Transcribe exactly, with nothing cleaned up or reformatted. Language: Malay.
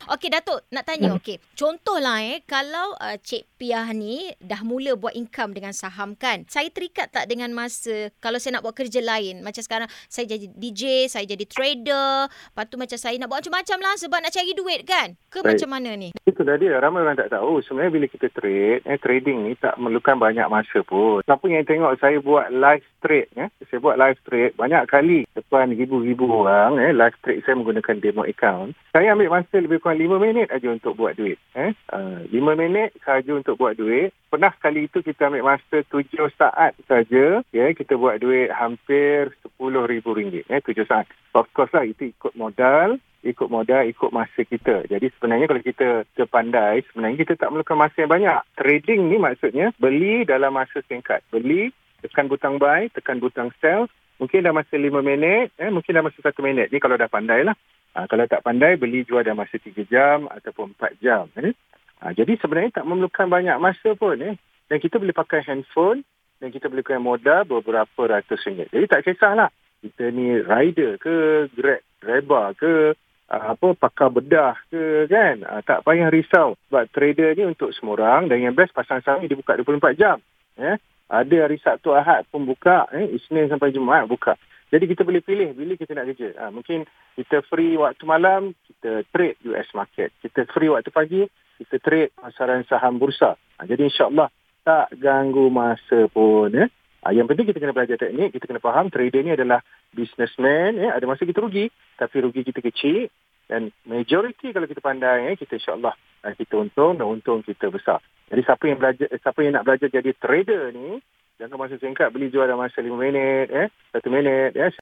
Okey Datuk, nak tanya Hmm. okey. Contohlah eh kalau uh, Cik Piah ni dah mula buat income dengan saham kan. Saya terikat tak dengan masa kalau saya nak buat kerja lain. Macam sekarang saya jadi D J, saya jadi trader. Lepas tu macam saya nak buat macam-macam lah sebab nak cari duit kan. Ke Baik. macam mana ni? Itulah dia. Ramai orang tak tahu. Sebenarnya bila kita trade, eh, trading ni tak memerlukan banyak masa pun. Siapa yang tengok saya buat live trade, eh, saya buat live trade banyak kali. Depan ribu-ribu orang, eh, live trade saya menggunakan demo account. Saya ambil masa lebih kurang lima minit aja untuk buat duit. Eh. Uh, lima minit saja untuk buat duit. Pernah sekali itu kita ambil masa tujuh saat saja. Ya, kita buat duit hampir sepuluh ribu ringgit. Eh, tujuh saat. Of course lah, itu ikut modal. ikut modal, ikut masa kita. Jadi sebenarnya kalau kita terpandai, sebenarnya kita tak memerlukan masa yang banyak. Trading ni maksudnya beli dalam masa singkat. Beli, tekan butang buy, tekan butang sell. Mungkin dalam masa lima minit, eh, mungkin dalam masa satu minit. Ni kalau dah pandai lah. Ha, kalau tak pandai, beli jual dalam masa tiga jam ataupun empat jam. Eh. Ha, jadi sebenarnya tak memerlukan banyak masa pun. Eh. Dan kita boleh pakai handphone dan kita boleh pakai modal beberapa ratus ringgit. Jadi tak kisahlah. Kita ni rider ke, grab, driver ke, apa pakar bedah ke kan, uh, tak payah risau sebab trader ni untuk semua orang. Dan yang best pasang saham ni dibuka dua puluh empat jam, ya. Ada hari Sabtu Ahad pun buka, eh Isnin sampai Jumaat buka. Jadi kita boleh pilih bila kita nak kerja. uh, mungkin kita free waktu malam, kita trade U S market. Kita free waktu pagi, kita trade pasaran saham bursa. uh, jadi insyaAllah tak ganggu masa pun, ya. Uh, yang penting kita kena belajar teknik, kita kena faham trader ni adalah businessman, ya. Ada masa kita rugi, tapi rugi kita kecil. Dan majoriti kalau kita pandai, eh, kita insyaAllah kita untung dan untung kita besar. Jadi siapa yang belajar, siapa yang nak belajar jadi trader ni, jangan masa singkat, beli jual dalam masa lima minit, eh, satu minit. Eh.